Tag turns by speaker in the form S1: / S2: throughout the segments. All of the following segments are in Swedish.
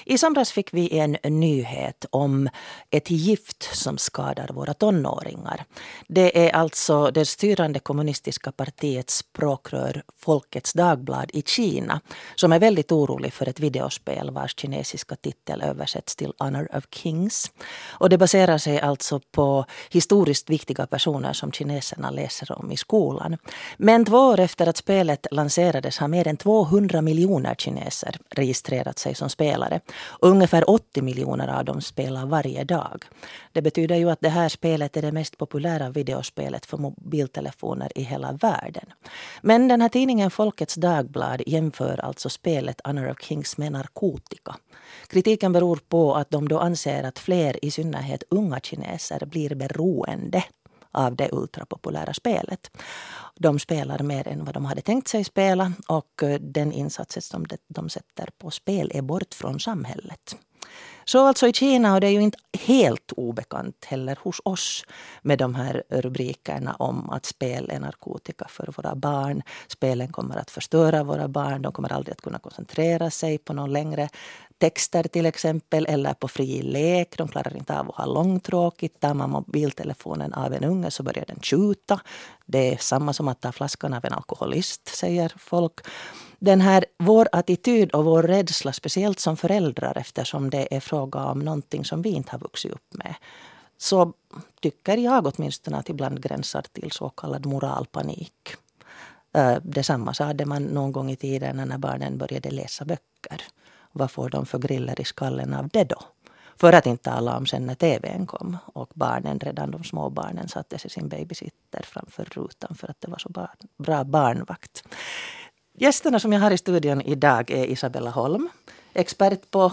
S1: I somras fick vi en nyhet om ett gift som skadar våra tonåringar. Det är alltså det styrande kommunistiska partiets språkrör Folkets Dagblad i Kina som är väldigt orolig för ett videospel vars kinesiska titel översätts till Honor of Kings. Och det baserar sig alltså på historiskt viktiga personer som kineserna läser om i skolan. Men 2 år efter att spelet lanserades har mer än 200 miljoner kineser registrerat sig som spelare. Ungefär 80 miljoner av dem spelar varje dag. Det betyder ju att det här spelet är det mest populära videospelet för mobiltelefoner i hela världen. Men den här tidningen Folkets Dagblad jämför alltså spelet Honor of Kings med narkotika. Kritiken beror på att de då anser att fler, i synnerhet unga kineser, blir beroende av det ultrapopulära spelet. De spelar mer än vad de hade tänkt sig spela och den insatsen som de sätter på spel är bort från samhället. Så alltså i Kina, och det är ju inte helt obekant heller hos oss med de här rubrikerna om att spel är narkotika för våra barn. Spelen kommer att förstöra våra barn, de kommer aldrig att kunna koncentrera sig på någon längre texter till exempel eller på fri lek. De klarar inte av att ha långtråkigt. Tar man mobiltelefonen av en unge så börjar den tjuta. Det är samma som att ta flaskan av en alkoholist, säger folk. Den här, vår attityd och vår rädsla, speciellt som föräldrar eftersom det är fråga om någonting som vi inte har vuxit upp med. Så tycker jag åtminstone att ibland gränsar till så kallad moralpanik. Detsamma hade man någon gång i tiden när barnen började läsa böcker. Vad får de för griller i skallen av det då? För att inte tala om sen när tvn kom och barnen, redan de små barnen, satte sig sin babysitter framför rutan för att det var så bra barnvakt. Gästerna som jag har i studion idag är Isabella Holm, expert på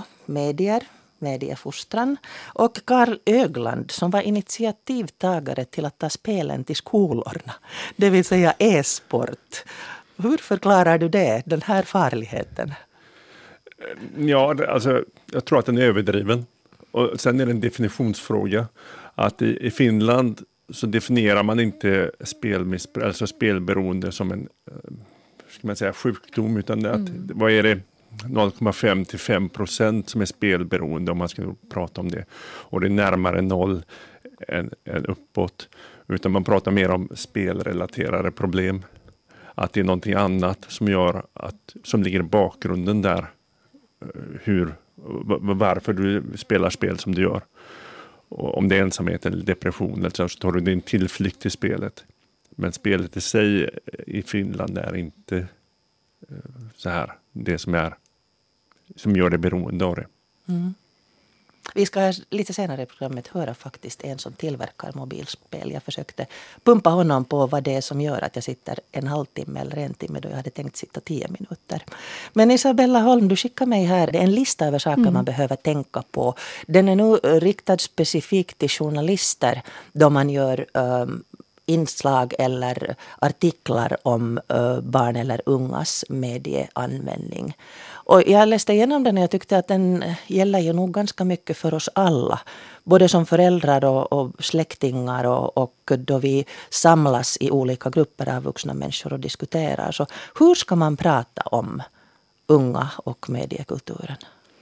S1: mediefostran, och Karl Ögland som var initiativtagare till att ta spelen till skolorna, det vill säga e-sport. Hur förklarar du det, den här farligheten?
S2: Ja, alltså, jag tror att den är överdriven. Och sen är det en definitionsfråga. Att i Finland så definierar man inte alltså spelberoende som en ska man säga, sjukdom, utan att, vad är det, 0,5 till 5% som är spelberoende om man ska prata om det. Och det är närmare 0 än uppåt. Utan man pratar mer om spelrelaterade problem. Att det är någonting annat som gör som ligger i bakgrunden där. Varför du spelar spel som du gör. Och om det är ensamhet eller depression eller så tar du din tillflykt till spelet. Men spelet i sig i Finland är inte så här det som gör det beroende av det.
S1: Mm. Vi ska lite senare i programmet höra faktiskt en som tillverkar mobilspel. Jag försökte pumpa honom på vad det är som gör att jag sitter en halvtimme eller en timme då jag hade tänkt sitta 10 minuter. Men Isabella Holm, du skickar mig här. Det är en lista över saker man behöver tänka på. Den är nu riktad specifikt till journalister då man gör inslag eller artiklar om barn eller ungas medieanvändning. Och jag läste igenom den och jag tyckte att den gäller ju nog ganska mycket för oss alla. Både som föräldrar och släktingar och då vi samlas i olika grupper av vuxna människor och diskuterar. Så hur ska man prata om unga och mediekulturen?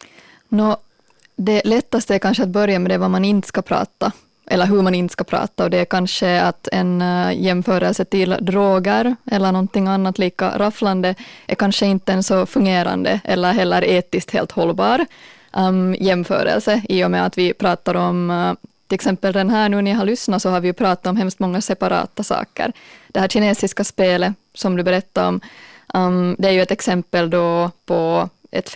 S3: Det lättaste är kanske att börja med det vad man inte ska prata. Eller hur man inte ska prata, och det är kanske att en jämförelse till droger eller någonting annat lika rafflande är kanske inte en så fungerande eller heller etiskt helt hållbar jämförelse, i och med att vi pratar om till exempel den här, nu när jag har lyssnat så har vi ju pratat om hemskt många separata saker. Det här kinesiska spelet som du berättade om, det är ju ett exempel då på ett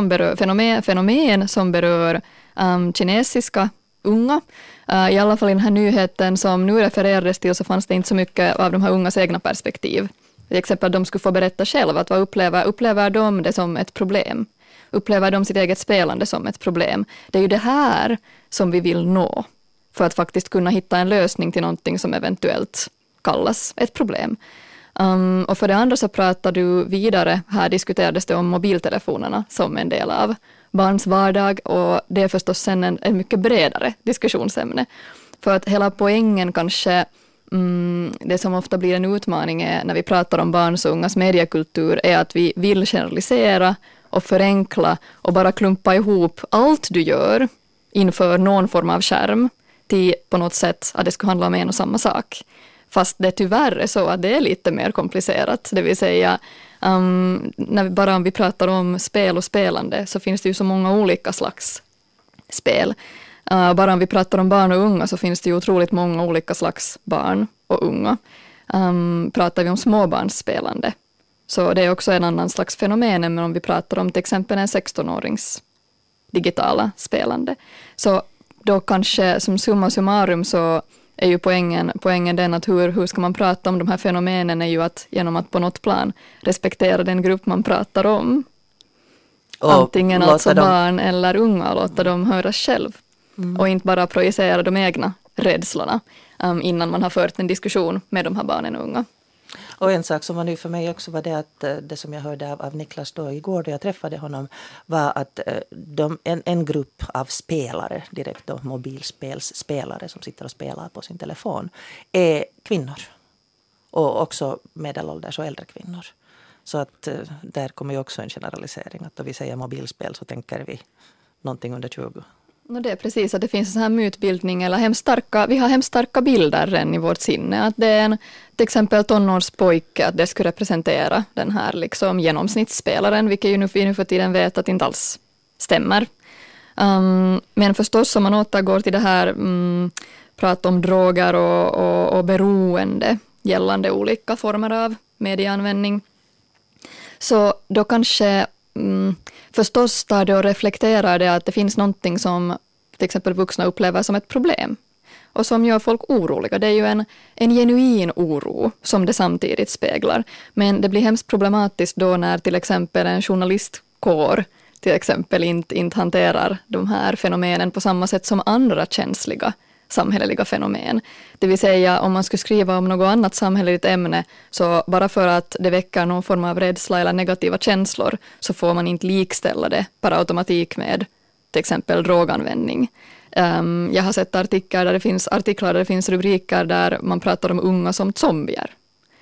S3: fenomen som berör kinesiska unga. I alla fall i den här nyheten som nu refererades till så fanns det inte så mycket av de här ungas egna perspektiv. Till exempel att de skulle få berätta själva att vad upplever de det som ett problem? Upplever de sitt eget spelande som ett problem? Det är ju det här som vi vill nå för att faktiskt kunna hitta en lösning till någonting som eventuellt kallas ett problem. Och för det andra så pratar du vidare, här diskuterades det om mobiltelefonerna som en del av barns vardag, och det är förstås sen en mycket bredare diskussionsämne. För att hela poängen kanske, det som ofta blir en utmaning är, när vi pratar om barns och ungas mediekultur, är att vi vill generalisera och förenkla och bara klumpa ihop allt du gör inför någon form av skärm till på något sätt att det skulle handla om en och samma sak. Fast det tyvärr är så att det är lite mer komplicerat. Det vill säga, om vi pratar om spel och spelande så finns det ju så många olika slags spel. Bara om vi pratar om barn och unga så finns det ju otroligt många olika slags barn och unga. Pratar vi om småbarnsspelande så det är också en annan slags fenomen än om vi pratar om till exempel en 16-årings digitala spelande. Så då kanske som summa summarum så är ju poängen den att hur ska man prata om de här fenomenen är ju att genom att på något plan respektera den grupp man pratar om. Och antingen alltså barn eller unga, låta dem höra själv. Och inte bara projicera de egna rädslorna innan man har fört en diskussion med de här barnen och unga.
S1: Och en sak som var ny för mig också var det att det som jag hörde av Niklas då igår då jag träffade honom var att en grupp av spelare, direkt då mobilspelsspelare som sitter och spelar på sin telefon, är kvinnor. Och också medelålders och äldre kvinnor. Så att där kommer ju också en generalisering. Att då vi säger mobilspel så tänker vi någonting under 20.
S3: Det är precis att det finns en sån här mytbildning eller vi har hemskt starka bilder redan i vårt sinne. Att det är till exempel tonårspojke, att det skulle representera den här liksom genomsnittsspelaren, vilket ju nu för tiden vet att inte alls stämmer. Men förstås om man återgår till det här prata om droger och beroende gällande olika former av medieanvändning. Så då kanske förstås tar det och reflekterar det att det finns någonting som till exempel vuxna upplever som ett problem och som gör folk oroliga. Det är ju en genuin oro som det samtidigt speglar. Men det blir hemskt problematiskt då när till exempel en journalistkår till exempel inte hanterar de här fenomenen på samma sätt som andra känsliga samhälleliga fenomen. Det vill säga om man skulle skriva om något annat samhälleligt ämne så bara för att det väcker någon form av rädsla eller negativa känslor så får man inte likställa det per automatik med till exempel droganvändning. Jag har sett artiklar där det finns rubriker där man pratar om unga som zombier.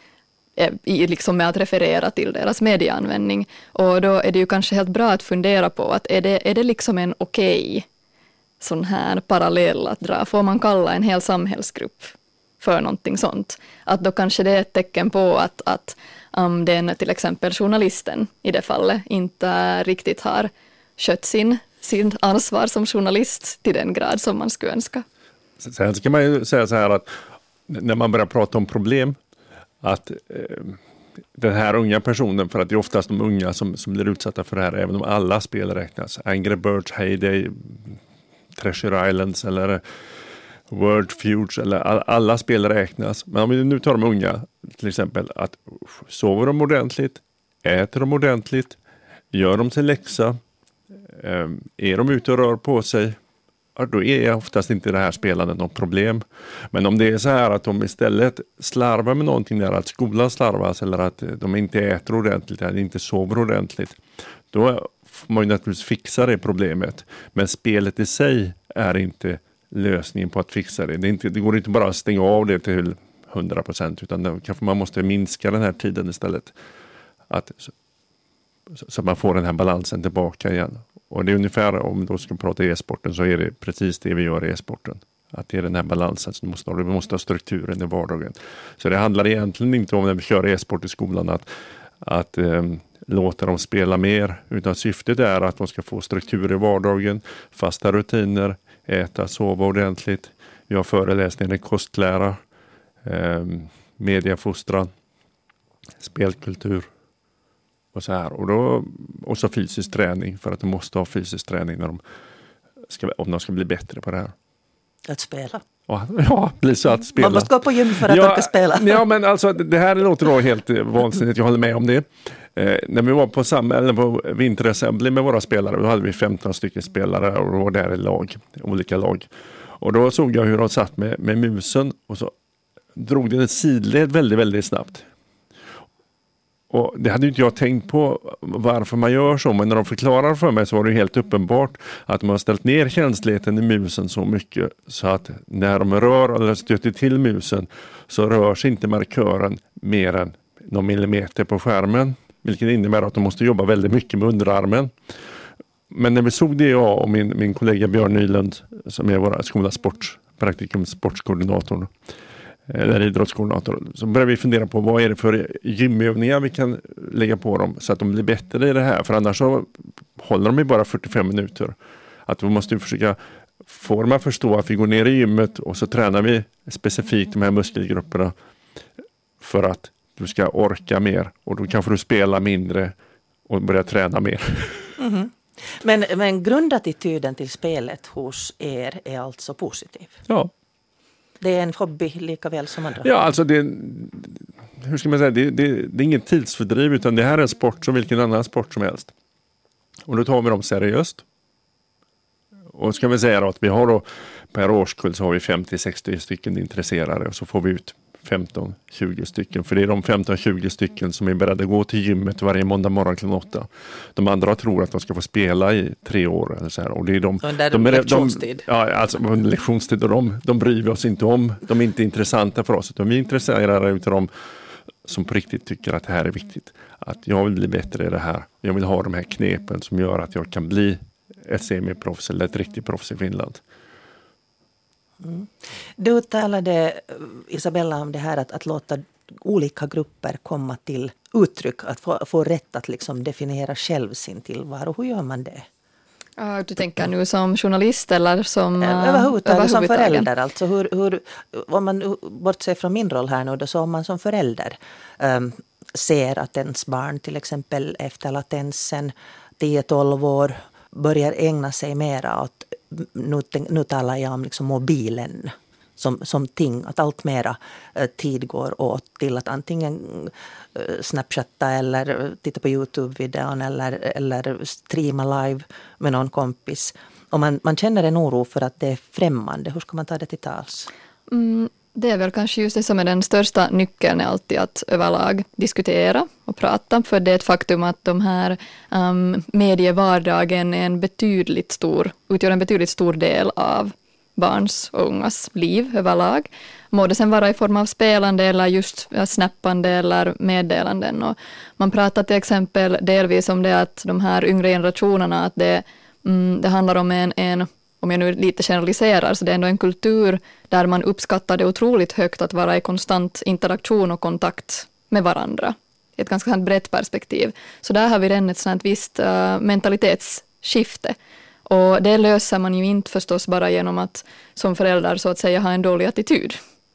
S3: Liksom med att referera till deras medieanvändning. Och då är det ju kanske helt bra att fundera på att är det liksom en okej sån här parallell att dra? Får man kalla en hel samhällsgrupp för någonting sånt? Att då kanske det är ett tecken på att den till exempel journalisten i det fallet inte riktigt har skött sin ansvar som journalist till den grad som man skulle önska.
S2: Sen ska man ju säga så här att när man börjar prata om problem att den här unga personen, för att det är oftast de unga som blir utsatta för det här, även om alla spel räknas. Angry Birds, Heyday, Treasure Islands eller Word Feuds eller alla spel räknas. Men om vi nu tar de unga till exempel, att sover de ordentligt, äter de ordentligt, gör de sin läxa, är de ute och rör på sig, då är oftast inte det här spelandet något problem. Men om det är så här att de istället slarvar med någonting där, att skolan slarvas eller att de inte äter ordentligt eller inte sover ordentligt, då får man ju naturligtvis fixa det problemet. Men spelet i sig är inte lösningen på att fixa det. Det går inte bara att stänga av det till 100%, utan kanske man måste minska den här tiden istället. Så att man får den här balansen tillbaka igen. Och det är ungefär, om då ska prata e-sporten, så är det precis det vi gör i e-sporten. Att det är den här balansen som vi måste ha strukturen i vardagen. Så det handlar egentligen inte om när vi kör e-sport i skolan att låta dem spela mer. Utan syftet är att de ska få struktur i vardagen, fasta rutiner, äta, sova ordentligt. Vi har föreläsningar i kostlära, mediefostran, spelkultur. Och så här. Och så fysisk träning, för att de måste ha fysisk träning om de ska bli bättre på det här.
S1: Att spela.
S2: Ja, bli så att spela.
S1: Man måste gå på gym för att orka spela.
S2: Ja, men alltså det här låter då helt vansinnigt. Jag håller med om det. När vi var på vinterassembly med våra spelare, då hade vi 15 stycken spelare och då var där i olika lag. Och då såg jag hur de satt med musen och så drog den ett sidled väldigt, väldigt snabbt. Och det hade inte jag tänkt på varför man gör så, men när de förklarar för mig så var det helt uppenbart att man har ställt ner känsligheten i musen så mycket så att när de rör eller stöter till musen så rör sig inte markören mer än någon millimeter på skärmen. vilket innebär att de måste jobba väldigt mycket med underarmen. Men när vi såg det, jag och min kollega Björn Nylund, som är vår skola praktikum sportskoordinator eller idrottskoordinator, så började vi fundera på vad är det för gymövningar vi kan lägga på dem så att de blir bättre i det här. För annars så håller de ju bara 45 minuter. Att vi måste försöka få dem att förstå att vi går ner i gymmet och så tränar vi specifikt de här muskelgrupperna för att du ska orka mer. Och då kanske du spela mindre och börja träna mer.
S1: Mm-hmm. Men grundattityden till spelet hos er är alltså positiv?
S2: Ja.
S1: Det är en hobby lika väl som andra?
S2: Ja, alltså hur ska man säga, det är ingen tidsfördriv, utan det här är en sport som vilken annan sport som helst. Och då tar vi dem seriöst. Och ska vi säga då att vi har då, per årskull så har vi 50-60 stycken intresserade och så får vi ut 15-20 stycken. För det är de 15-20 stycken som är beredda att gå till gymmet varje måndag morgon klockan 8. De andra tror att de ska få spela i 3 år eller så här. Och det är de
S1: lektionstid.
S2: Ja, alltså under lektionstid, och de bryr vi oss inte om. De är inte intressanta för oss, utan vi är intresserade utav dem som på riktigt tycker att det här är viktigt. Att jag vill bli bättre i det här. Jag vill ha de här knepen som gör att jag kan bli ett semiproffs eller ett riktigt proffs i Finland.
S1: Mm. Du talade, Isabella, om det här att låta olika grupper komma till uttryck, att få rätt att liksom definiera själv sin tillvaro. Hur gör man det?
S3: Du tänker nu som journalist eller som
S1: överhuvudtaget som förälder? Alltså hur, om man bortser från min roll här nu, då, så om man som förälder ser att ens barn till exempel efter latensen 10-12 år börjar ägna sig mera åt, nu talar jag om liksom mobilen som ting, att allt mera tid går åt till att antingen snapchatta eller titta på YouTube-videon eller streama live med någon kompis. Och man känner en oro för att det är främmande. Hur ska man ta det till tals?
S3: Det är väl kanske just det som är den största nyckeln, är alltid att överlag diskutera och prata. För det är ett faktum att de här medievardagen är utgör en betydligt stor del av barns och ungas liv överlag. Må det sen vara i form av spelande eller just snappande eller meddelanden. Och man pratar till exempel delvis om det att de här yngre generationerna, att det handlar om en om jag nu lite generaliserar, så det är ändå en kultur där man uppskattar det otroligt högt att vara i konstant interaktion och kontakt med varandra. Ett ganska brett perspektiv. Så där har vi redan ett sådant visst mentalitetsskifte. Och det löser man ju inte förstås bara genom att som förälder så att säga ha en dålig attityd.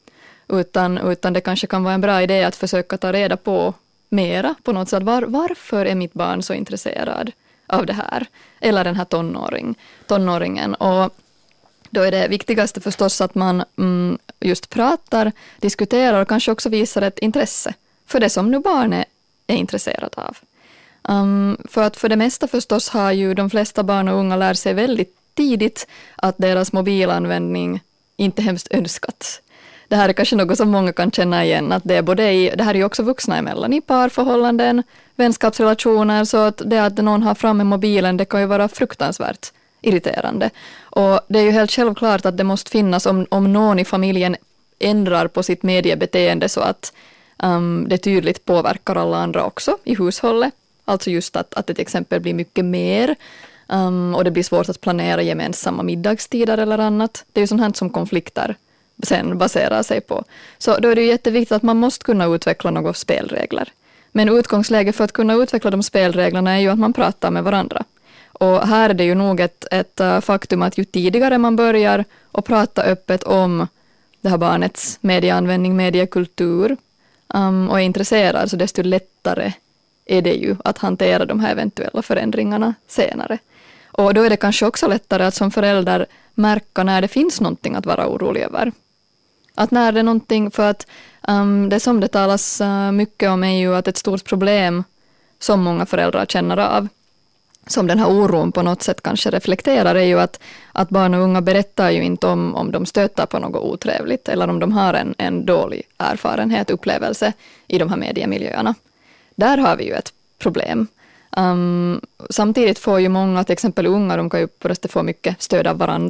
S3: Utan det kanske kan vara en bra idé att försöka ta reda på mera på något sätt. Varför är mitt barn så intresserad av det här? Eller den här tonåringen. Och då är det viktigaste förstås att man just pratar, diskuterar och kanske också visar ett intresse för det som nu barnet är intresserad av. För att för det mesta förstås har ju de flesta barn och unga lärt sig väldigt tidigt att deras mobilanvändning inte är hemskt önskat. Det här är kanske något som många kan känna igen, att det är det här är ju också vuxna emellan i parförhållanden, vänskapsrelationer, så att det att någon har framme mobilen, det kan ju vara fruktansvärt irriterande. Och det är ju helt självklart att det måste finnas, om någon i familjen ändrar på sitt mediebeteende så att det tydligt påverkar alla andra också i hushållet. Alltså just att det till exempel blir mycket mer och det blir svårt att planera gemensamma middagstider eller annat. Det är ju sånt här som konflikter sen baserar sig på. Så då är det ju jätteviktigt att man måste kunna utveckla några spelregler. Men utgångsläget för att kunna utveckla de spelreglerna är ju att man pratar med varandra. Och här är det ju nog ett faktum att ju tidigare man börjar att prata öppet om det här barnets medieanvändning, mediekultur och är intresserad, så desto lättare är det ju att hantera de här eventuella förändringarna senare. Och då är det kanske också lättare att som förälder märka när det finns någonting att vara orolig över. Att när det är någonting, för att det som det talas mycket om är ju att ett stort problem som många föräldrar känner av, som den här oron på något sätt kanske reflekterar, är ju att barn och unga berättar ju inte om de stöter på något otrevligt eller om de har en dålig erfarenhet, upplevelse i de här mediemiljöerna. Där har vi ju ett problem. Samtidigt får ju många, till exempel unga, de kan ju få mycket stöd av varandra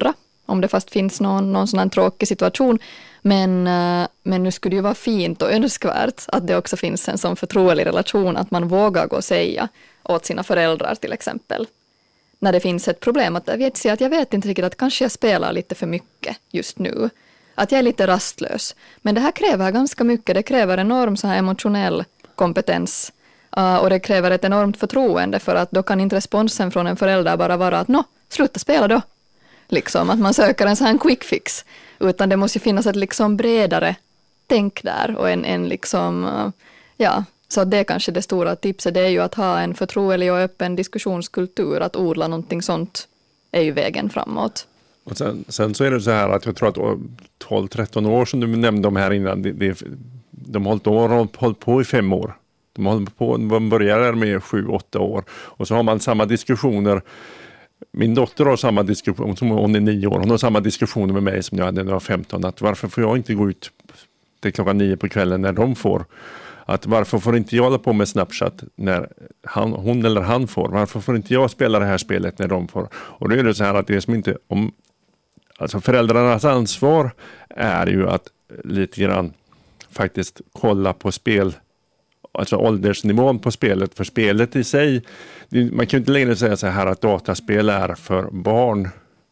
S3: om det fast finns någon sån här tråkig situation. Men nu skulle det ju vara fint och önskvärt att det också finns en sån förtrolig relation att man vågar gå och säga åt sina föräldrar till exempel. När det finns ett problem, att jag vet inte riktigt att kanske jag spelar lite för mycket just nu. Att jag är lite rastlös. Men det här kräver ganska mycket. Det kräver enorm så här emotionell kompetens. Och det kräver ett enormt förtroende, för att då kan inte responsen från en förälder bara vara att sluta spela då. Liksom, att man söker en sån här quick fix. Utan det måste ju finnas ett liksom bredare tänk där och en liksom, så det är kanske det stora tipset, det är ju att ha en förtrolig och öppen diskussionskultur, att odla någonting sånt är ju vägen framåt. Och
S2: sen så är det så här att jag tror att 12-13 år som du nämnde om här innan, de har hållit på i 5 år. De börjar med 7-8 år och så har man samma diskussioner. Min dotter har samma diskussion, som hon är 9 år, hon har samma diskussioner med mig som jag hade när jag var 15, att varför får jag inte gå ut till klockan 9 på kvällen när de får? Att varför får inte jag hålla på med Snapchat när hon eller han får? Varför får inte jag spela det här spelet när de får? Och då är det så här att det är som inte alltså föräldrarnas ansvar är ju att lite grann faktiskt kolla på spel, alltså åldersnivån på spelet, för spelet i sig, man kan ju inte längre säga så här att dataspel är för barn,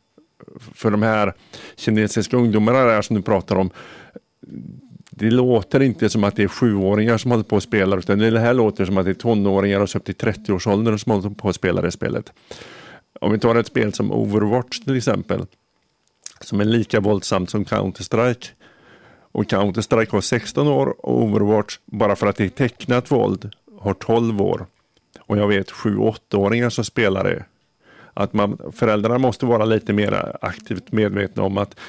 S2: för de här kinesiska ungdomarna där som du pratar om. Det låter inte som att det är 7-åringar som håller på att spela, utan det här låter som att det är tonåringar och så upp till 30-årsåldern som håller på att spela det spelet. Om vi tar ett spel som Overwatch till exempel, som är lika våldsamt som Counter-Strike, och Counter-Strike har 16 år och Overwatch, bara för att det är tecknat våld, har 12 år. Och jag vet 7-8-åringar som spelar det. Att föräldrarna måste vara lite mer aktivt medvetna om att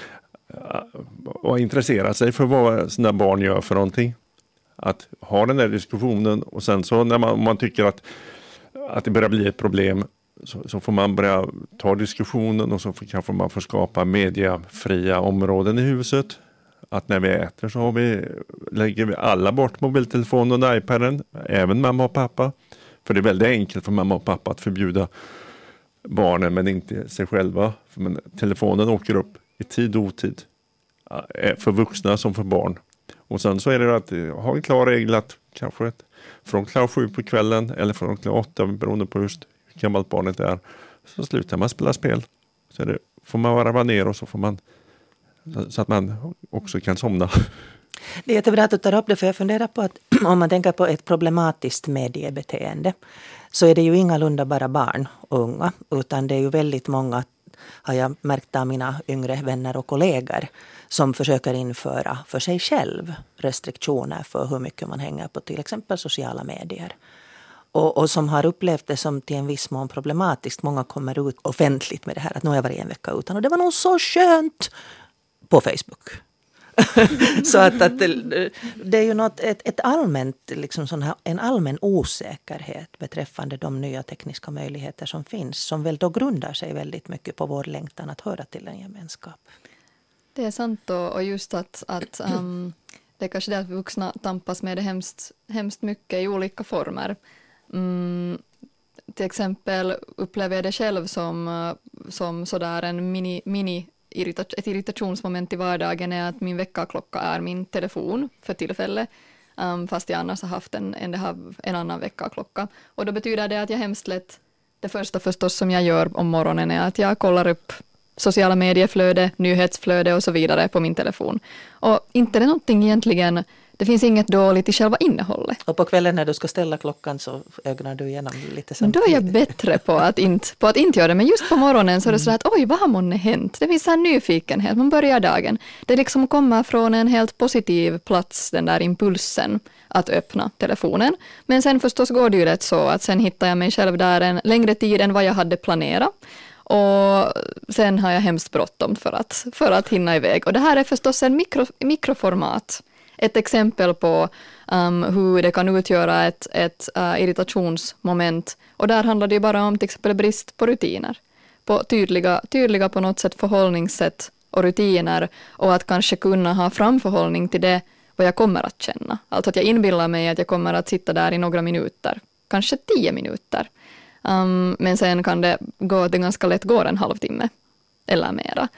S2: och intressera sig för vad sina barn gör för någonting. Att ha den där diskussionen, och sen så när man tycker att det börjar bli ett problem, så får man börja ta diskussionen, och så kanske man får skapa mediafria områden i huset. Att när vi äter så lägger vi alla bort mobiltelefonen och iPaden, även mamma och pappa. För det är väldigt enkelt för mamma och pappa att förbjuda barnen men inte sig själva. Men telefonen åker upp i tid och otid, för vuxna som för barn. Och sen så är det att ha en klar regel att kanske från klockan 7 på kvällen eller från klockan 8, beroende på just hur gammalt barnet är, så slutar man spela spel. Så får man varva ner, och så får man, så att man också kan somna.
S1: Det är jättebra att du tar upp det, för jag funderar på att om man tänker på ett problematiskt mediebeteende, så är det ju ingalunda bara barn och unga, utan det är ju väldigt många, har jag märkt av mina yngre vänner och kollegor, som försöker införa för sig själv restriktioner för hur mycket man hänger på till exempel sociala medier. Och som har upplevt det som till en viss mån problematiskt. Många kommer ut offentligt med det här, att nu har jag varit en vecka utan, och det var nog så skönt på Facebook. Så att det är ju ett allmänt, liksom sån här, en allmän osäkerhet beträffande de nya tekniska möjligheter som finns, som väl då grundar sig väldigt mycket på vår längtan att höra till en gemenskap.
S3: Det är sant, och just att det är kanske det att vuxna tampas med det hemskt mycket i olika former. Till exempel upplever jag det själv som sådär en ett irritationsmoment i vardagen är att min väckarklocka är min telefon för tillfället, fast jag annars har haft en annan väckarklocka. Och då betyder det att jag hemskt lätt, det första förstås som jag gör om morgonen är att jag kollar upp sociala medieflöde, nyhetsflöde och så vidare på min telefon. Och inte det någonting egentligen, det finns inget dåligt i själva innehållet.
S1: Och på kvällen när du ska ställa klockan så ögnar du igenom lite samtidigt.
S3: Men då är jag bättre på att inte göra det. Men just på morgonen så är det så att oj, vad har månne hänt? Det finns så här nyfikenhet, man börjar dagen. Det liksom kommer från en helt positiv plats, den där impulsen att öppna telefonen. Men sen förstås går det ju rätt så att sen hittar jag mig själv där en längre tid än vad jag hade planerat. Och sen har jag hemskt bråttom för att hinna iväg. Och det här är förstås en mikroformat. Ett exempel på hur det kan utgöra ett irritationsmoment. Och där handlar det ju bara om till exempel brist på rutiner. På tydliga på något sätt förhållningssätt och rutiner. Och att kanske kunna ha framförhållning till det vad jag kommer att känna. Alltså att jag inbillar mig att jag kommer att sitta där i några minuter. Kanske 10 minuter. Men sen kan det ganska lätt gå en halvtimme eller mera.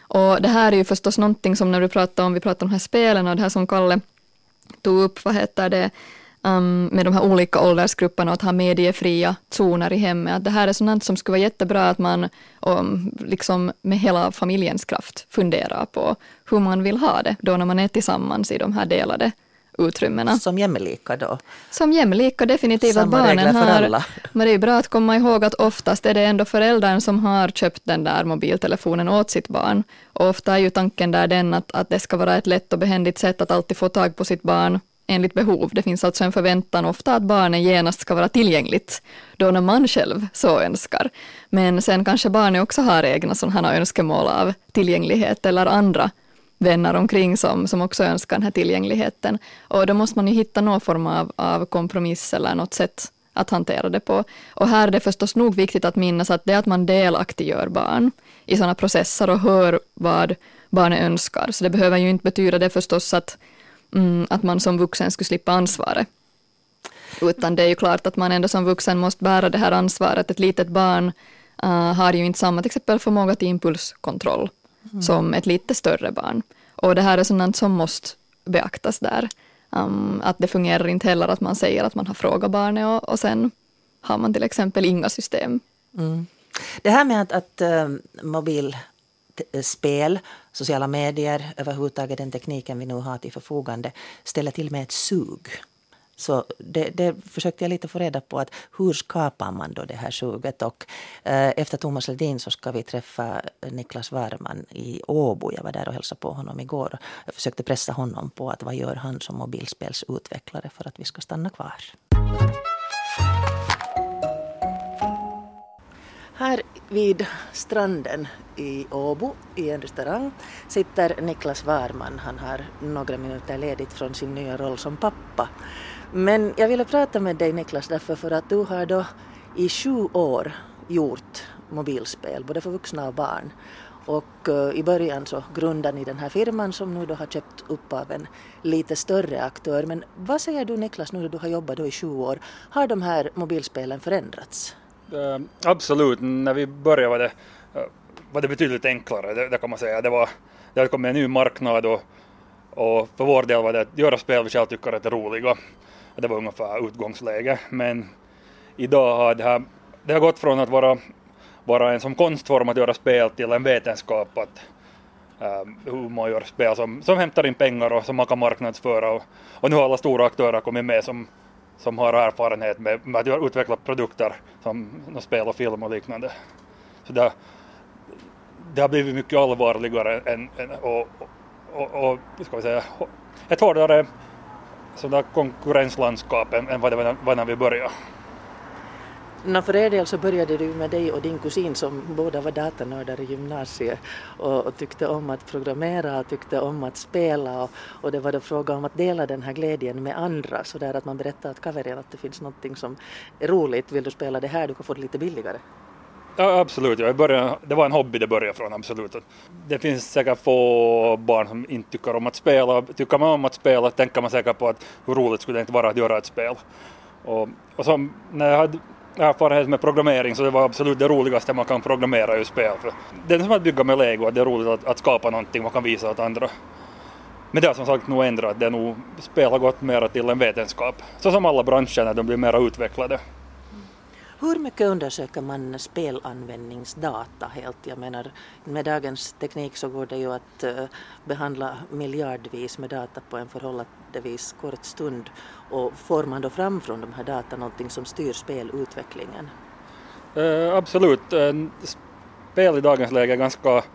S3: Och det här är ju förstås någonting som när vi pratar om de här spelen och det här som Kalle tog upp, med de här olika åldersgrupperna och att ha mediefria zoner i hemmet. Att det här är sånt som skulle vara jättebra att man liksom med hela familjens kraft funderar på hur man vill ha det då när man är tillsammans i de här delade utrymmena.
S1: Som jämlika då?
S3: Som jämlika, definitivt.
S1: Samma
S3: att barnen
S1: regler för alla.
S3: Men det är bra att komma ihåg att oftast är det ändå föräldern som har köpt den där mobiltelefonen åt sitt barn. Och ofta är ju tanken där den att det ska vara ett lätt och behändigt sätt att alltid få tag på sitt barn enligt behov. Det finns alltså en förväntan ofta att barnen genast ska vara tillgängligt då när man själv så önskar. Men sen kanske barnen också har egna sådana önskemål av tillgänglighet eller andra vänner omkring som också önskar den här tillgängligheten. Och då måste man ju hitta någon form av kompromiss eller något sätt att hantera det på. Och här är det förstås nog viktigt att minnas att det är att man delaktiggör barn i sådana processer och hör vad barnen önskar. Så det behöver ju inte betyda det förstås att man som vuxen skulle slippa ansvaret. Utan det är ju klart att man ändå som vuxen måste bära det här ansvaret. Ett litet barn har ju inte samma till exempel förmåga till impulskontroll som ett lite större barn. Och det här är sådant som måste beaktas där. Att det fungerar inte heller att man säger att man har frågat barnet och sen har man till exempel inga system.
S1: Mm. Det här med att mobilspel, sociala medier, överhuvudtaget den tekniken vi nu har till förfogande ställer till med ett sug. Så det försökte jag lite få reda på att hur skapar man då det här suget, och efter Thomas Ledin så ska vi träffa Niklas Warman i Åbo. Jag var där och hälsade på honom igår. Jag försökte pressa honom på att vad gör han som mobilspelsutvecklare för att vi ska stanna kvar. Här vid stranden i Åbo i en restaurang sitter Niklas Warman. Han har några minuter ledigt från sin nya roll som pappa. Men jag ville prata med dig, Niklas, därför för att du har då i 7 år gjort mobilspel, både för vuxna och barn. Och i början så grundade ni den här firman som nu då har köpt upp av en lite större aktör. Men vad säger du, Niklas, nu när du har jobbat då i 7 år? Har de här mobilspelen förändrats?
S4: Absolut, när vi började var det betydligt enklare, det kan man säga. Det hade kommit en ny marknad och för vår del var det att göra spel vi själv tycker att det är roliga. Det var ungefär utgångsläge, men idag har det har gått från att vara en som konstform att göra spel till en vetenskap att hur man gör spel som hämtar in pengar och som man kan marknadsföra. Och nu har alla stora aktörer kommit med som har erfarenhet med att utveckla produkter som spel och film och liknande. Så det har blivit mycket allvarligare och ska vi säga, ett hårdare sådär konkurrenslandskap än vad det var när vi började.
S1: För er del så började du med dig och din kusin som båda var datanördar i gymnasiet och tyckte om att programmera och tyckte om att spela och det var då fråga om att dela den här glädjen med andra, så där att man berättar att kaverin att det finns någonting som är roligt, vill du spela det här, du kan få det lite billigare.
S4: Ja, absolut. Det var en hobby det började från, absolut. Det finns säkert få barn som inte tycker om att spela. Tycker man om att spela tänker man säkert på att hur roligt skulle det inte vara att göra ett spel. Och som när jag hade erfarenhet med programmering så det var absolut det roligaste man kan programmera i spel. För det är som att bygga med Lego, att det är roligt att skapa någonting man kan visa åt andra. Men det har som sagt nog ändrat, det är nog spel har gått mer till en vetenskap. Så som alla branscher när de blir mer utvecklade.
S1: Hur mycket undersöker man spelanvändningsdata helt? Jag menar, med dagens teknik så går det ju att behandla miljardvis med data på en förhållandevis kort stund. Och får man då fram från de här data någonting som styr spelutvecklingen?
S4: Absolut. Spel i dagens läge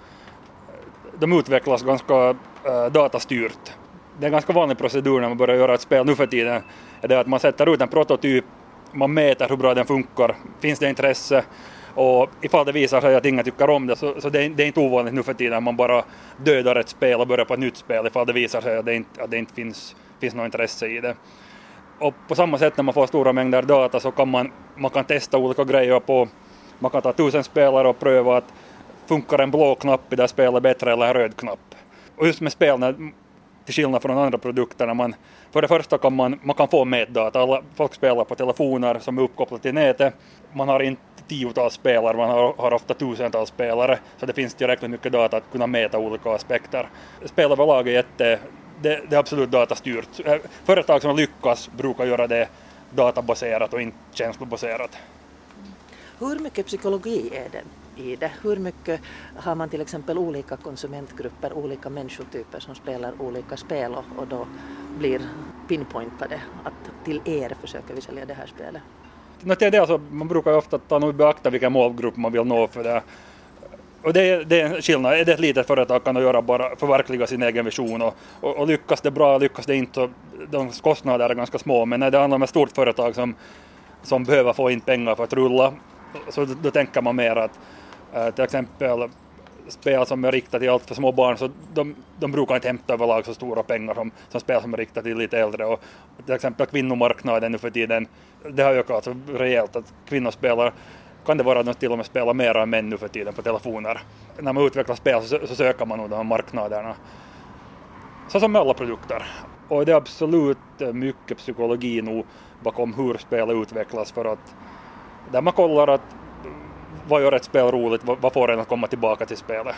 S4: de utvecklas ganska datastyrt. Det är en ganska vanlig procedur när man börjar göra ett spel nu för tiden. Är det att man sätter ut en prototyp, man mäter hur bra den funkar, finns det intresse, och ifall det visar sig att ingen tycker om det så det är inte ovanligt nu för tiden att man bara dödar ett spel och börjar på ett nytt spel ifall det visar sig att det inte finns något intresse i det. Och på samma sätt när man får stora mängder data så kan man kan testa olika grejer på, man kan ta 1000 spelare och pröva att funkar en blå knapp i det spelet bättre eller en röd knapp. Och just med spel, till skillnad från andra produkter, för det första man kan få mätdata. Folk spelar på telefoner som är uppkopplade till nätet. Man har inte tiotals spelare, man har ofta tusentals spelare, så det finns tillräckligt mycket data att kunna mäta olika aspekter. Spel överlag är det är absolut datastyrt. Företag som lyckas brukar göra det databaserat och inte känslobaserat.
S1: Hur mycket psykologi är det i det? Hur mycket har man till exempel olika konsumentgrupper, olika människotyper som spelar olika spel och då blir pinpointade att till er försöker vi sälja det här spelet?
S4: Det alltså, man brukar ofta ta och beakta vilken målgrupp man vill nå för det. Och det är en skillnad. Är det ett litet företag kan göra bara förverkliga sin egen vision och lyckas det bra, lyckas det inte, så de kostnader är ganska små. Men när det handlar om ett stort företag som behöver få in pengar för att rulla, så då tänker man mer att till exempel spel som är riktat till allt för små barn, så de brukar inte hämta överlag så stora pengar som spel som är riktat till lite äldre. Och till exempel kvinnomarknaden nu för tiden, det har ökat så rejält att kvinnor spelar, kan det vara att de till och med spelar mer än män nu för tiden på telefoner. När man utvecklar spel så söker man nog de här marknaderna. Så som med alla produkter. Och det är absolut mycket psykologi nu bakom hur spelet utvecklas, för att där man kollar att vad gör ett spel roligt, vad får en att komma tillbaka till spelet.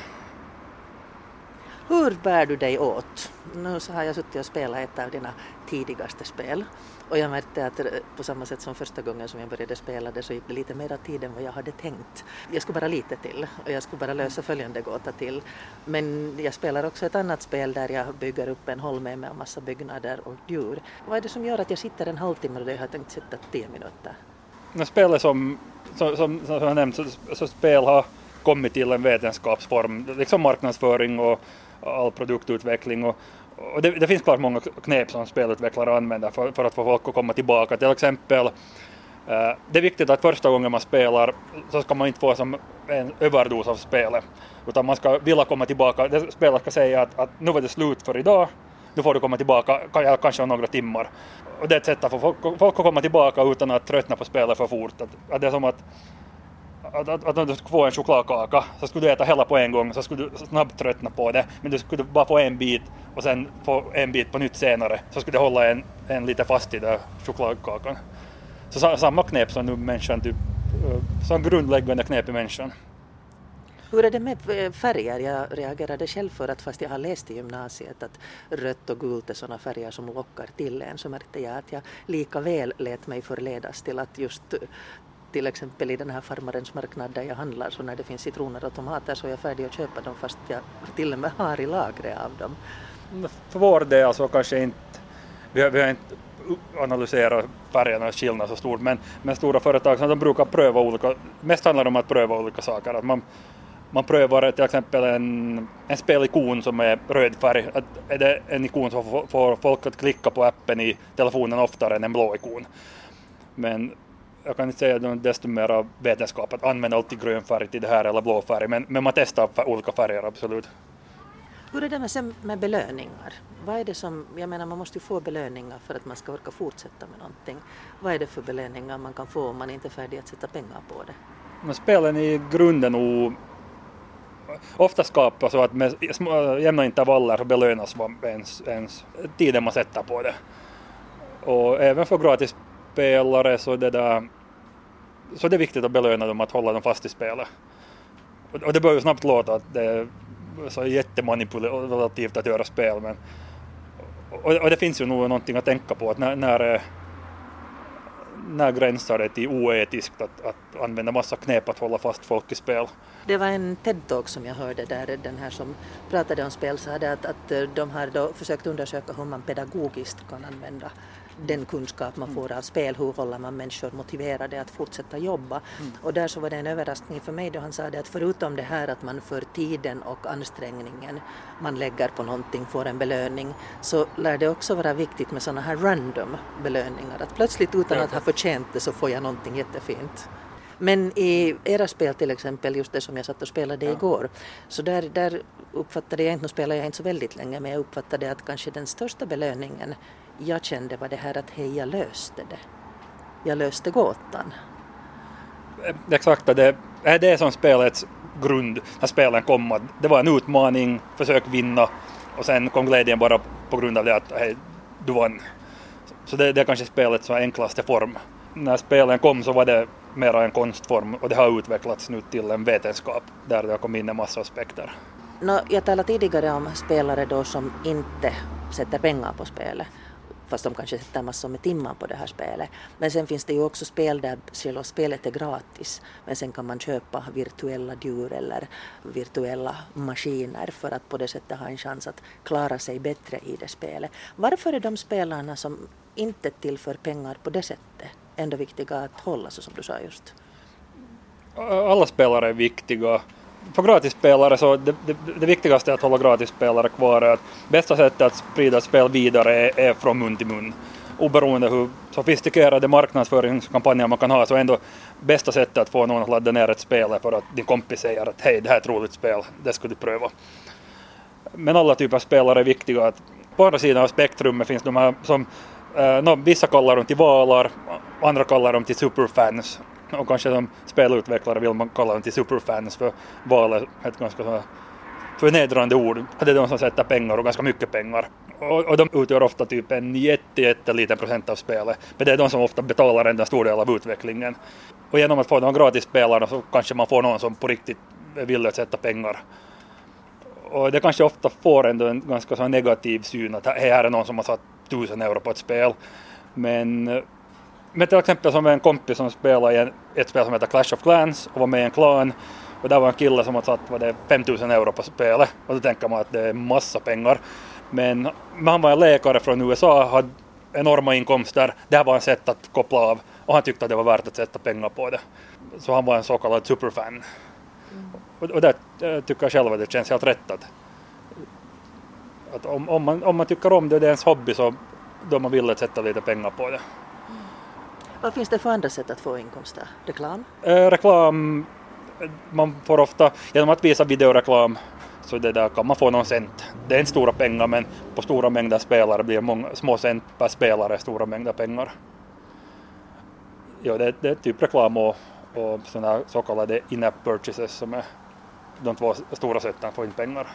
S1: Hur bär du dig åt? Nu så har jag suttit och spelat ett av dina tidigaste spel och jag märkte att på samma sätt som första gången som jag började spela det så gick det lite mer tid än vad jag hade tänkt. Jag skulle bara lite till och jag skulle bara lösa följande gåta till. Men jag spelar också ett annat spel där jag bygger upp en holme med en massa byggnader och djur. Vad är det som gör att jag sitter en halvtimme och det har tänkt sitta 10 minuter?
S4: När spelet som jag nämnt, så spel har kommit till en vetenskapsform, liksom marknadsföring och all produktutveckling. Och det finns klart många knep som spelutvecklare använder för att få folk att komma tillbaka. Till exempel, det är viktigt att första gången man spelar så ska man inte få som en överdos av spelet. Utan man ska vilja komma tillbaka. Spelet ska säga att nu var det slut för idag. Nu får du komma tillbaka kanske om några timmar. Och det är ett sätt att få folk att komma tillbaka utan att tröttna på spelet för fort. Att det är som att om du skulle få en chokladkaka så skulle du äta hela på en gång, så skulle du snabbt tröttna på det. Men du skulle bara få en bit och sen få en bit på nytt senare, så skulle det hålla en lite fast i den chokladkakan. Så samma knep som nu människan, typ, som grundläggande knep i människan.
S1: Hur är det med färger? Jag reagerade själv för att fast jag har läst i gymnasiet att rött och gult är sådana färger som lockar till en, så märkte jag att jag lika väl lät mig förledas till att just till exempel i den här farmarens marknad där jag handlar, så när det finns citroner och tomater så är jag färdig att köpa dem fast jag till och med har i lagret av dem.
S4: För vår del alltså kanske inte, vi har inte analyserat färgernas skillnad så stort, men stora företag som de brukar pröva olika, mest handlar det om att pröva olika saker. Att man prövar till exempel en spelikon som är röd färg. Är det en ikon som får folk att klicka på appen i telefonen oftare än en blå ikon. Men jag kan inte säga att det är desto mer vetenskap att använda alltid grön färg till det här eller blå färg. Men man testar olika färger, absolut.
S1: Hur är det med belöningar? Vad är det som, jag menar man måste ju få belöningar för att man ska orka fortsätta med någonting. Vad är det för belöningar man kan få om man inte är färdig att sätta pengar på det?
S4: Men spelen i grunden och ofta skapas så att med jämna intervaller så belönas ens tiden man sätter på det. Och även för gratis spelare så det är viktigt att belöna dem, att hålla dem fast i spelet. Och det bör ju snabbt låta att det är så jättemanipulativt att göra spel, men och det finns ju nog någonting att tänka på att när gränsar det till oetiskt att använda massa knep att hålla fast folk i spel.
S1: Det var en TED-talk som jag hörde där den här som pratade om spel sa att de har då försökt undersöka hur man pedagogiskt kan använda den kunskap man får av spel, hur håller man människor motiverade att fortsätta jobba. Och där så var det en överraskning för mig då han sa det att förutom det här att man för tiden och ansträngningen man lägger på någonting får en belöning, så lär det också vara viktigt med sådana här random belöningar. Att plötsligt utan att ha förtjänt det så får jag någonting jättefint. Men i era spel till exempel, just det som jag satt och spelade igår, så där uppfattade jag inte, nu spelar jag inte så väldigt länge, men jag uppfattade att kanske den största belöningen jag kände var det här att hej, jag löste det. Jag löste gåtan.
S4: Exakt, det är det som spelets grund när spelen kom. Det var en utmaning, försök vinna, och sen kom glädjen bara på grund av det att hej, du vann. Så det är kanske spelets enklaste form. När spelen kom så var det mera en konstform och det har utvecklats nu till en vetenskap där det har kommit in en massa aspekter.
S1: Jag talade tidigare om spelare då som inte sätter pengar på spelet, fast de kanske sätter massor med timmar på det här spelet. Men sen finns det ju också spel där själva spelet är gratis, men sen kan man köpa virtuella djur eller virtuella maskiner för att på det sättet ha en chans att klara sig bättre i det spelet. Varför är de spelarna som inte tillför pengar på det sättet ändå viktiga att hålla, så som du sa just?
S4: Alla spelare är viktiga. För gratisspelare så det viktigaste är att hålla gratisspelare kvar. Är att bästa sättet att sprida spel vidare är från mun till mun. Oberoende hur sofistikerade marknadsföringskampanjer man kan ha, så är ändå bästa sättet att få någon att ladda ner ett spel för att din kompis säger att hej, det här är ett roligt spel, det ska du pröva. Men alla typer av spelare är viktiga. Att på andra sidan av spektrumet finns de här som vissa kallar dem till valar, andra kallar dem till superfans. Och kanske som spelutvecklare vill man kalla dem till superfans, för val är ett ganska förnedrande ord. Det är de som sätter pengar, och ganska mycket pengar. Och de utgör ofta typ en jätteliten procent av spelet. Men det är de som ofta betalar en stor del av utvecklingen. Och genom att få de gratis spelarna så kanske man får någon som på riktigt vill sätta pengar. Och det kanske ofta får ändå en ganska så negativ syn att här är någon som har satt 1000 euro på ett spel. Men till exempel som en kompis som spelade i ett spel som heter Clash of Clans och var med i en klan, och där var en kille som hade satt 5000 euro på spelet, och då tänker man att det är massa pengar. Men han var en läkare från USA, hade enorma inkomster, det här var ett sätt att koppla av, och han tyckte att det var värt att sätta pengar på det. Så han var en så kallad superfan. Och där tycker jag själv att det känns helt rätt att om man tycker om det, det är ens hobby, så då man vill sätta lite pengar på det.
S1: Vad finns det för andra sätt att få inkomster? Reklam?
S4: Reklam, man får ofta, genom att visa videoreklam, så det där kan man få någon cent. Det är inte stora pengar, men på stora mängder spelare blir många små cent per spelare, stora mängder pengar. Ja, det är typ reklam och sådana så kallade in-app purchases som är de två stora sätten att få in pengar.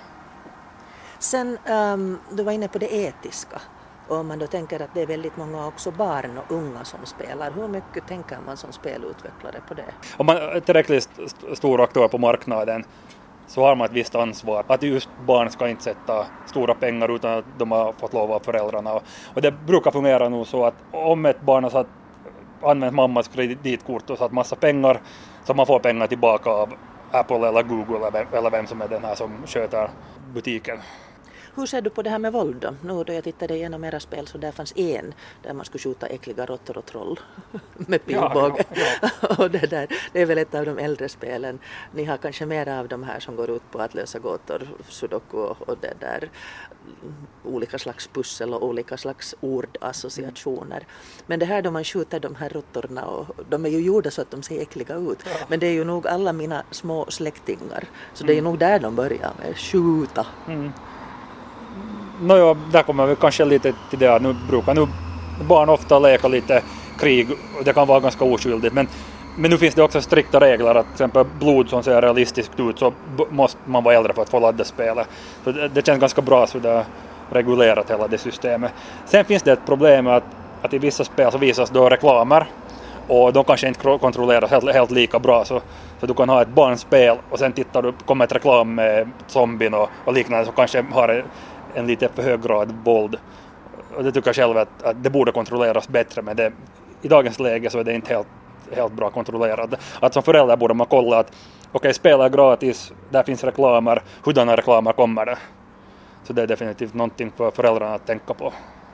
S1: Sen, du var inne på det etiska. Och om man då tänker att det är väldigt många också barn och unga som spelar, hur mycket tänker man som spelutvecklare på det?
S4: Om man är tillräckligt stor aktör på marknaden så har man ett visst ansvar. Att just barn ska inte sätta stora pengar utan att de har fått lov av föräldrarna. Och det brukar fungera nog så att om ett barn har använt mammas kreditkort och satt massa pengar, så man får pengar tillbaka av Apple eller Google eller vem som är den här som sköter butiken.
S1: Hur ser du på det här med våld då? Nu då jag tittade igenom era spel så där fanns en där man skulle skjuta äckliga råttor och troll med pilbåge. Ja. Och det är väl ett av de äldre spelen. Ni har kanske mera av de här som går ut på att lösa gåtor, sudoku och det där olika slags pussel och olika slags ordassociationer. Men det här då man skjuter de här råttorna, och de är ju gjorda så att de ser äckliga ut. Ja. Men det är ju nog alla mina små släktingar. Så det är ju nog där de börjar med skjuta. Mm.
S4: Nåja, där kommer vi kanske lite till det att nu brukar barn ofta leka lite krig, och det kan vara ganska oskyldigt, men nu finns det också strikta regler att till exempel blod som ser realistiskt ut så måste man vara äldre för att få ladda spelet. Så det känns ganska bra så det är regulerat hela det systemet. Sen finns det ett problem med att i vissa spel så visas då reklamer, och de kanske inte kontrolleras helt lika bra, så du kan ha ett barnspel och sen kommer ett reklam med zombien och liknande som kanske har en lite för hög grad våld. Och det tycker jag själv att det borde kontrolleras bättre, men i dagens läge så är det inte helt bra kontrollerat. Att som förälder borde man kolla att okej, spela är gratis, där finns reklamer, hurdana reklamer kommer det? Så det är definitivt någonting för föräldrarna att tänka på.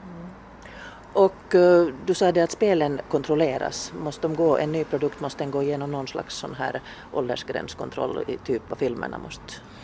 S1: Och du sa det att spelen kontrolleras. En ny produkt måste den gå igenom någon slags sån här åldersgränskontroll i typ vad filmerna måste?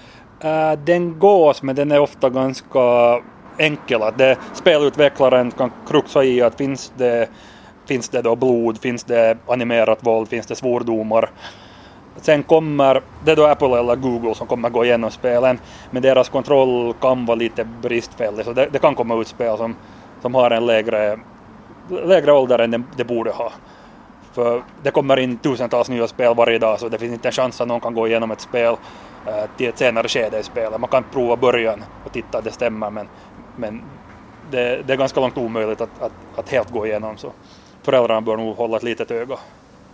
S4: Den gås, men den är ofta ganska enkel. Att spelutvecklaren kan kruxa i att finns det då blod, finns det animerat våld, finns det svordomar. Sen kommer det då Apple eller Google som kommer gå igenom spelen, men deras kontroll kan vara lite bristfällig. Så det kan komma ut spel som har en lägre ålder än det borde ha. För det kommer in tusentals nya spel varje dag, så det finns inte en chans att någon kan gå igenom ett spel till ett senare skede i spelet. Man kan prova början och titta att det stämmer, men det är ganska långt omöjligt att helt gå igenom, så föräldrarna bör nog hålla ett litet öga.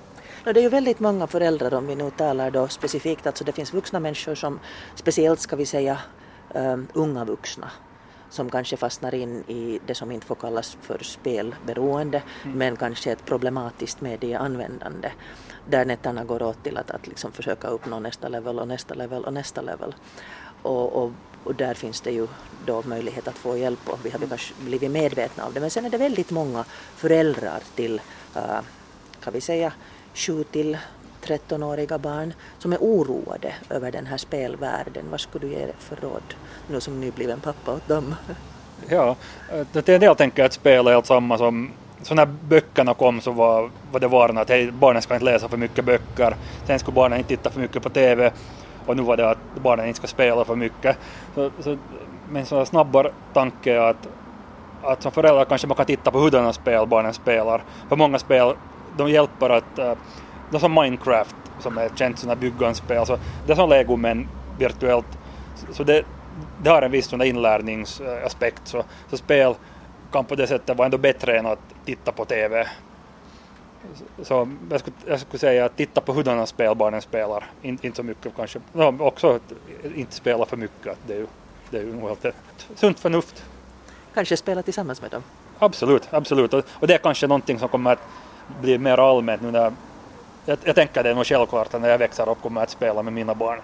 S1: Det är ju väldigt många föräldrar, om vi nu talar då specifikt, alltså det finns vuxna människor som speciellt, ska vi säga, unga vuxna som kanske fastnar in i det som inte får kallas för spelberoende, men kanske ett problematiskt medieanvändande där nätterna går åt till att liksom försöka uppnå nästa level och nästa level och nästa level. Och där finns det ju då möjlighet att få hjälp och vi har kanske blivit medvetna av det. Men sen är det väldigt många föräldrar till, kan vi säga, 7-13-åriga barn som är oroade över den här spelvärlden. Vad skulle du ge för råd nu som nybliven pappa åt dem?
S4: Ja, det är en del tänker att spel är allt samma som så när böckerna kom så var det varnat att hej, barnen ska inte läsa för mycket böcker, sen skulle barnen inte titta för mycket på TV och nu var det att barnen inte ska spela för mycket. Men så snabbare tanke är att som föräldrar kanske man kan titta på hurdana spel barnen spelar. För många spel, de hjälper att, det som Minecraft som är ett känt sådana bygganspel, så det är som Lego men virtuellt, så det har en viss sån inlärningsaspekt, så spel kan på det sättet vara ändå bättre än att titta på TV. Så jag skulle säga att titta på hurdana spel barnen spelar, inte så mycket kanske, också att inte spela för mycket, att det är ju nog helt sunt förnuft.
S1: Kanske spela tillsammans med dem?
S4: Absolut. Och det är kanske någonting som kommer att bli mer allmänt nu när jag tänker det är nog självklart att när jag växer upp kommer jag att spela med mina barn.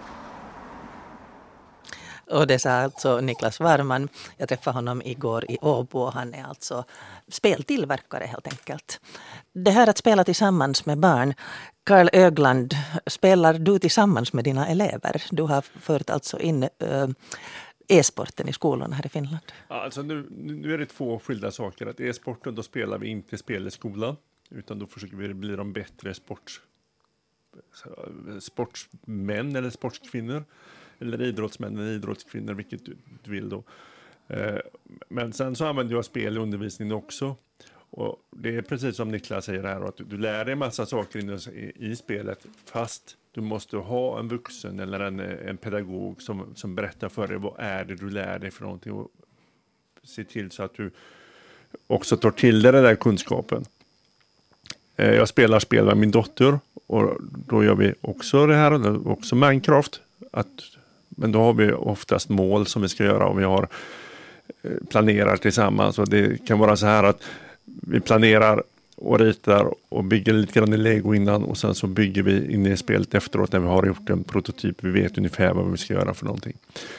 S1: Och det sa alltså Niklas Warman. Jag träffade honom igår i Åbo. Han är alltså speltillverkare helt enkelt. Det här att spela tillsammans med barn. Karl Ögland, spelar du tillsammans med dina elever? Du har fört alltså in e-sporten i skolorna här i Finland.
S2: Ja, alltså nu är det två skilda saker. Att e-sporten, då spelar vi inte spel i skolan. Utan då försöker vi bli de bättre sportsmän eller sportskvinnor. Eller idrottsmän eller idrottskvinnor, vilket du vill då. Men sen så använder jag spel i undervisningen också. Och det är precis som Niklas säger här, att du lär dig en massa saker i spelet, fast du måste ha en vuxen eller en pedagog som berättar för dig vad är det du lär dig för någonting, och se till så att du också tar till dig den där kunskapen. Jag spelar spel med min dotter och då gör vi också det här, också Minecraft, men då har vi oftast mål som vi ska göra och vi har planerar tillsammans, och det kan vara så här att vi planerar och ritar och bygger lite grann i Lego innan, och sen så bygger vi in i spelet efteråt när vi har gjort en prototyp. Vi vet ungefär vad vi ska göra för någonting.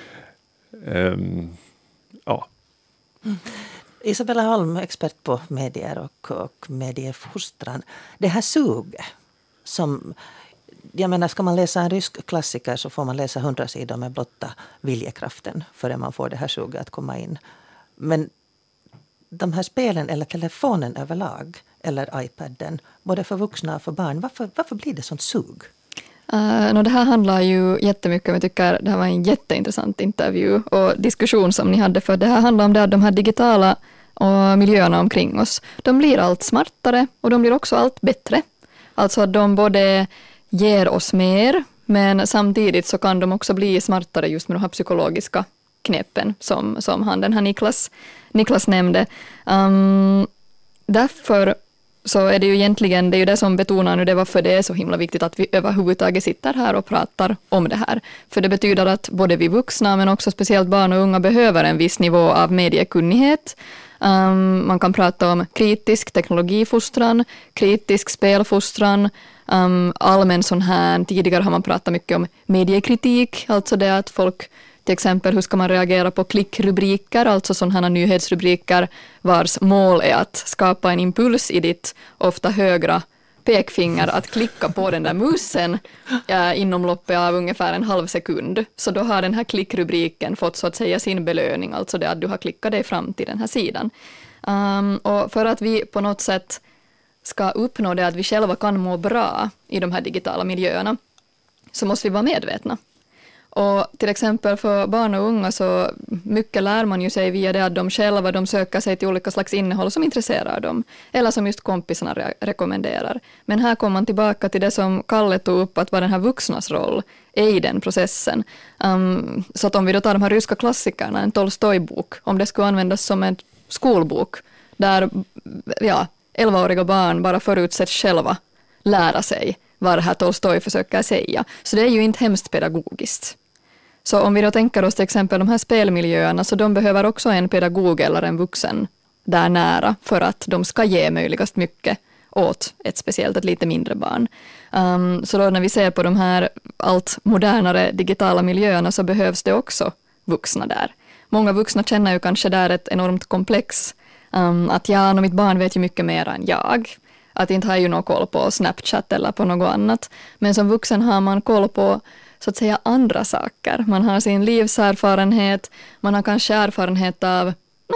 S2: Ja.
S1: Isabella Holm, expert på medier och mediefostran. Det här suget som, jag menar, ska man läsa en rysk klassiker så får man läsa 100 sidor med blotta viljekraften förrän man får det här suget att komma in. Men de här spelen eller telefonen överlag eller iPaden, både för vuxna och för barn, varför blir det sånt sug?
S3: Det här handlar ju jättemycket, jag tycker det här var en jätteintressant intervju och diskussion som ni hade, för det här handlar om det att de här digitala och miljöerna omkring oss, de blir allt smartare och de blir också allt bättre. Alltså att de både ger oss mer, men samtidigt så kan de också bli smartare just med de här psykologiska knepen som den här Niklas nämnde. Därför så är det ju egentligen, det är ju det som betonar nu det varför det är så himla viktigt att vi överhuvudtaget sitter här och pratar om det här. För det betyder att både vi vuxna men också speciellt barn och unga behöver en viss nivå av mediekunnighet. Man kan prata om kritisk teknologifostran, kritisk spelfostran, allmän sån här, tidigare har man pratat mycket om mediekritik, alltså det att folk, till exempel hur ska man reagera på klickrubriker, alltså sådana här nyhetsrubriker vars mål är att skapa en impuls i ditt ofta högra pekfinger att klicka på den där musen inom loppet av ungefär en halv sekund. Så då har den här klickrubriken fått så att säga sin belöning, alltså det att du har klickat dig fram till den här sidan. Och för att vi på något sätt ska uppnå det att vi själva kan må bra i de här digitala miljöerna så måste vi vara medvetna. Och till exempel för barn och unga så mycket lär man ju sig via det att de själva de söker sig till olika slags innehåll som intresserar dem. Eller som just kompisarna rekommenderar. Men här kommer man tillbaka till det som Kalle tog upp, att vad den här vuxnas roll är i den processen. Så att om vi då tar de här ryska klassikerna, en Tolstoj-bok, om det skulle användas som en skolbok där 11-åriga barn bara förutsätts själva lära sig vad det här Tolstoj försöker säga. Så det är ju inte hemskt pedagogiskt. Så om vi då tänker oss till exempel de här spelmiljöerna, så de behöver också en pedagog eller en vuxen där nära för att de ska ge möjligast mycket åt ett lite mindre barn. Så då när vi ser på de här allt modernare digitala miljöerna så behövs det också vuxna där. Många vuxna känner ju kanske där ett enormt komplex. Att mitt barn vet ju mycket mer än jag. Att inte har ju någon koll på Snapchat eller på något annat. Men som vuxen har man koll på så att säga andra saker. Man har sin livserfarenhet, man har kanske erfarenhet av,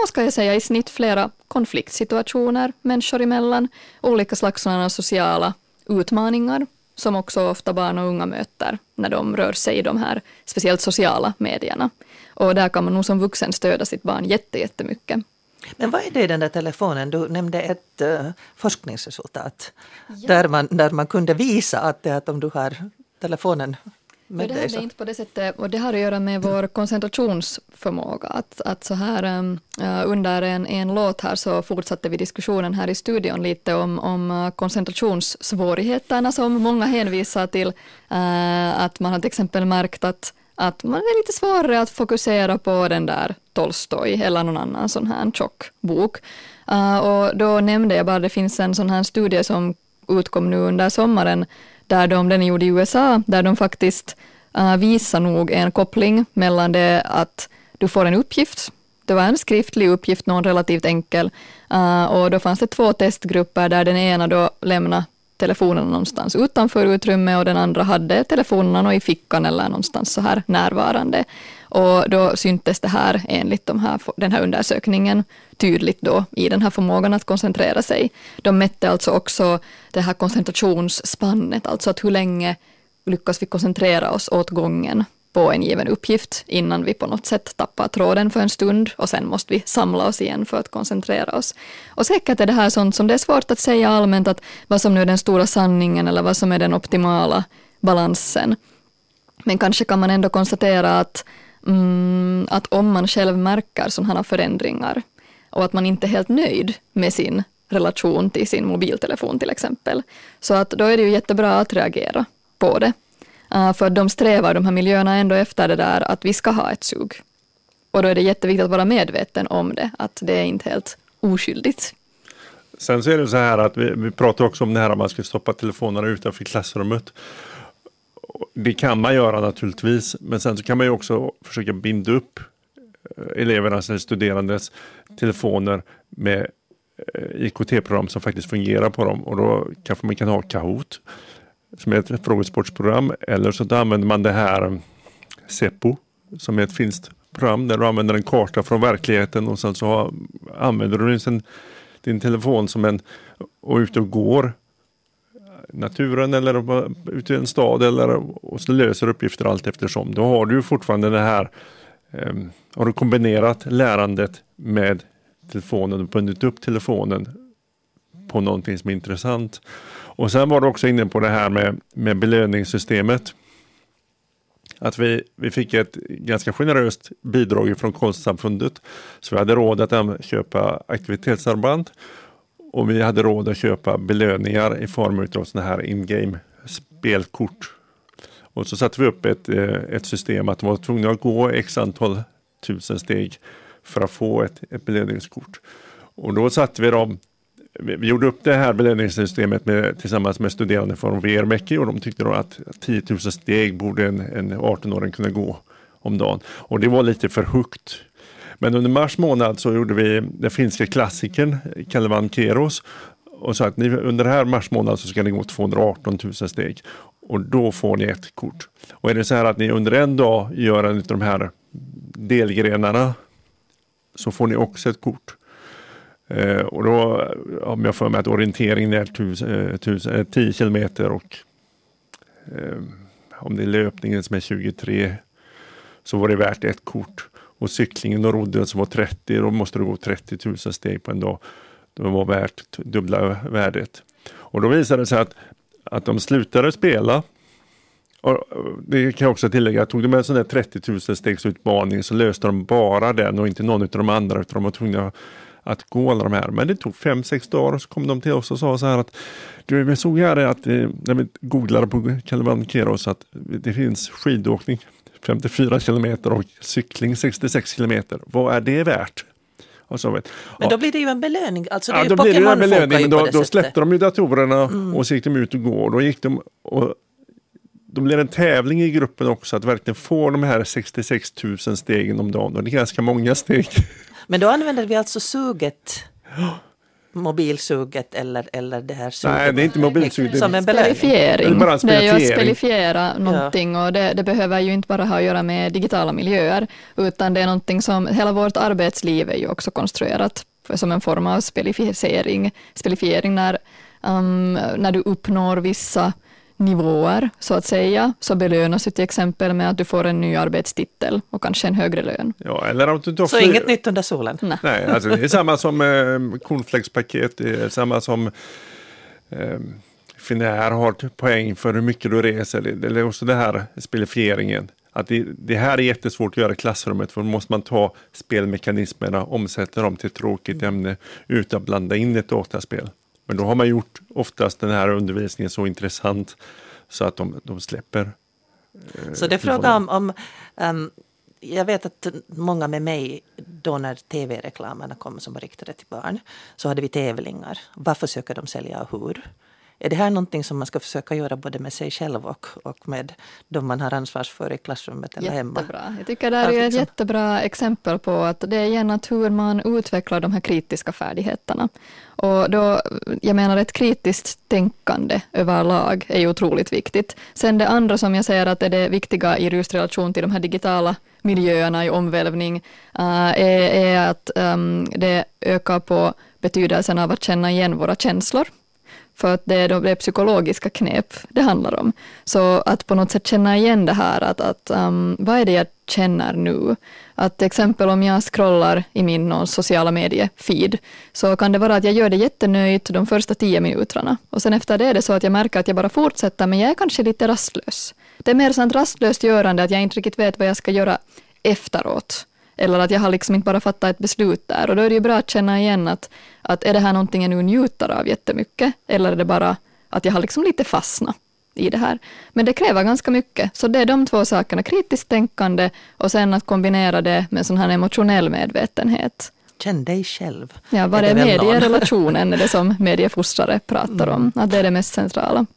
S3: i snitt flera konfliktsituationer människor emellan, olika slags sociala utmaningar som också ofta barn och unga möter när de rör sig i de här speciellt sociala medierna. Och där kan man nog som vuxen stödja sitt barn jättemycket.
S1: Men vad är det i den där telefonen? Du nämnde ett forskningsresultat där man kunde visa att om du har telefonen med dig.
S3: Det är inte på det sättet, och det har att göra med vår koncentrationsförmåga. Att så här under en låt här så fortsatte vi diskussionen här i studion lite om koncentrationssvårigheterna som många hänvisar till. Att man har till exempel märkt att man är lite svårare att fokusera på den där Tolstoj eller någon annan sån här tjock bok. Och då nämnde jag bara att det finns en sån här studie som utkom nu under sommaren där den gjorde i USA, där de faktiskt visar nog en koppling mellan det att du får en uppgift. Det var en skriftlig uppgift, någon relativt enkel. Och då fanns det 2 testgrupper där den ena då lämnade telefonen någonstans utanför utrymmet och den andra hade telefonen i fickan eller någonstans så här närvarande. Och då syntes det här enligt den här undersökningen tydligt då i den här förmågan att koncentrera sig. De mätte alltså också det här koncentrationsspannet, alltså att hur länge lyckas vi koncentrera oss åt gången på en given uppgift innan vi på något sätt tappar tråden för en stund och sen måste vi samla oss igen för att koncentrera oss. Och säkert är det här sånt som det är svårt att säga allmänt att vad som nu är den stora sanningen eller vad som är den optimala balansen. Men kanske kan man ändå konstatera att om man själv märker sådana här förändringar och att man inte är helt nöjd med sin relation till sin mobiltelefon till exempel, så att då är det ju jättebra att reagera på det. För de strävar de här miljöerna ändå efter det där att vi ska ha ett sug. Och då är det jätteviktigt att vara medveten om det, att det är inte helt oskyldigt.
S2: Sen så är det så här att vi pratar också om det här att man ska stoppa telefonerna utanför klassrummet. Det kan man göra naturligtvis, men sen så kan man ju också försöka binda upp elevernas eller studerandes telefoner med IKT-program som faktiskt fungerar på dem. Och då kanske man kan ha Kahoot som är ett frågesportsprogram, eller så använder man det här Seppo som är ett finskt program där du använder en karta från verkligheten och sen så använder du din telefon som och ute och går naturen eller ute i en stad och så löser uppgifter allt eftersom. Då har du fortfarande det här har du kombinerat lärandet med telefonen och bundit upp telefonen på någonting som är intressant. Och sen var du också inne på det här med belöningssystemet. Att vi fick ett ganska generöst bidrag från Konstsamfundet. Så vi hade råd att köpa aktivitetsarmband. Och vi hade råd att köpa belöningar i form av sådana här in-game spelkort. Och så satte vi upp ett system att de var tvungna att gå x antal 1000 steg för att få ett belöningskort. Och då satte vi gjorde upp det här belöningssystemet tillsammans med studerande från VRMECI och de tyckte då att 10 000 steg borde en 18-åring kunna gå om dagen. Och det var lite för högt. Men under mars månad så gjorde vi den finska klassikern Kalevan Keros och sa att under här mars månad så ska ni gå 218 000 steg och då får ni ett kort. Och är det så här att ni under en dag gör en av de här delgrenarna så får ni också ett kort. Och då om jag får med att orienteringen är 10 kilometer och om det är löpningen som är 23 så var det värt ett kort. Och cyklingen och rodden som var 30, då måste du gå 30 000 steg på en dag. Det var värt dubbla värdet. Och då visade det sig att de slutade spela. Och det kan jag också tillägga, tog de med en sån där 30 000 stegs utmaning så löste de bara den och inte någon av de andra utan de var tvungna att gå alla de här. Men det tog 5-6 dagar och så kom de till oss och sa så här att du, vi såg här att när vi googlade på Kalivan Keros att det finns skidåkning 54 kilometer och cykling 66 kilometer. Vad är det värt? Och så vet.
S1: Men då blir det ju en belöning. Alltså det är ju
S2: då blir det ju en
S1: Pokémon
S2: belöning, men då släppte
S1: sättet.
S2: de ju datorerna och så gick de ut och går. Då gick de och de blev en tävling i gruppen också att verkligen få de här 66 000 stegen om dagen. Och det är ganska många steg.
S1: Men då använder vi alltså suget, mobilsuget eller det här suget.
S2: Nej, det är inte mobilsuget.
S1: Som en belöning.
S3: Spelifiering.
S2: Det är bara en
S3: Det är ju att
S2: spelifiering.
S3: spelifiera någonting och det behöver ju inte bara ha att göra med digitala miljöer utan det är någonting som hela vårt arbetsliv är ju också konstruerat som en form av spelifiering när du uppnår vissa nivåer så att säga så belönas du till exempel med att du får en ny arbetstitel och kanske en högre lön.
S2: Ja, eller att du
S1: Så inget nytt under solen?
S2: Nej, alltså det är samma som cornflakespaket, det är samma som Finnair har poäng för hur mycket du reser. Det är också det här spelifieringen. Att det här är jättesvårt att göra i klassrummet för då måste man ta spelmekanismerna, omsätta dem till ett tråkigt ämne utan att blanda in ett dataspel. Men då har man gjort oftast den här undervisningen så intressant så att de släpper.
S1: Så det är frågan om jag vet att många med mig då när tv-reklamerna kom som var riktade till barn så hade vi tävlingar. Vad försöker de sälja och hur? Är det här någonting som man ska försöka göra både med sig själv och med de man har ansvar för i klassrummet eller hemma?
S3: Jättebra. Jag tycker det här är ett jättebra exempel på att det är igen att hur man utvecklar de här kritiska färdigheterna. Och då, jag menar ett kritiskt tänkande överlag är ju otroligt viktigt. Sen det andra som jag säger att är det viktiga i just relation till de här digitala miljöerna i omvälvning är att det ökar på betydelsen av att känna igen våra känslor. För att det är psykologiska knep det handlar om. Så att på något sätt känna igen det här, att vad är det jag känner nu? Att till exempel om jag scrollar i min sociala medier-feed så kan det vara att jag gör det jättenöjt de första 10 minuterna. Och sen efter det är det så att jag märker att jag bara fortsätter men jag är kanske lite rastlös. Det är mer sånt rastlöst görande att jag inte riktigt vet vad jag ska göra efteråt. Eller att jag har liksom inte bara fattat ett beslut där. Och då är det ju bra att känna igen att är det här någonting jag nu njuter av jättemycket? Eller är det bara att jag har liksom lite fastnat i det här? Men det kräver ganska mycket. Så det är de två sakerna. Kritiskt tänkande och sen att kombinera det med sån här emotionell medvetenhet.
S1: Känn dig själv.
S3: Ja, vad är medierelationen är det som mediefostrare pratar om. Att det är det mest centrala.